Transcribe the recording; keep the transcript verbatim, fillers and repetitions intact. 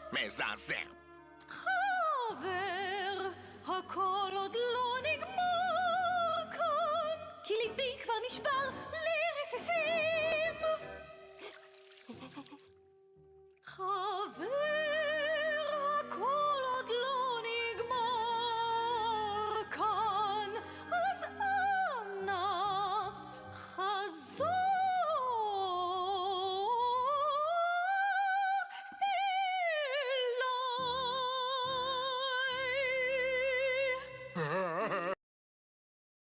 מזעזע. חבר, הכל עוד לא נגמר כאן, כי ליבי כבר נשבר.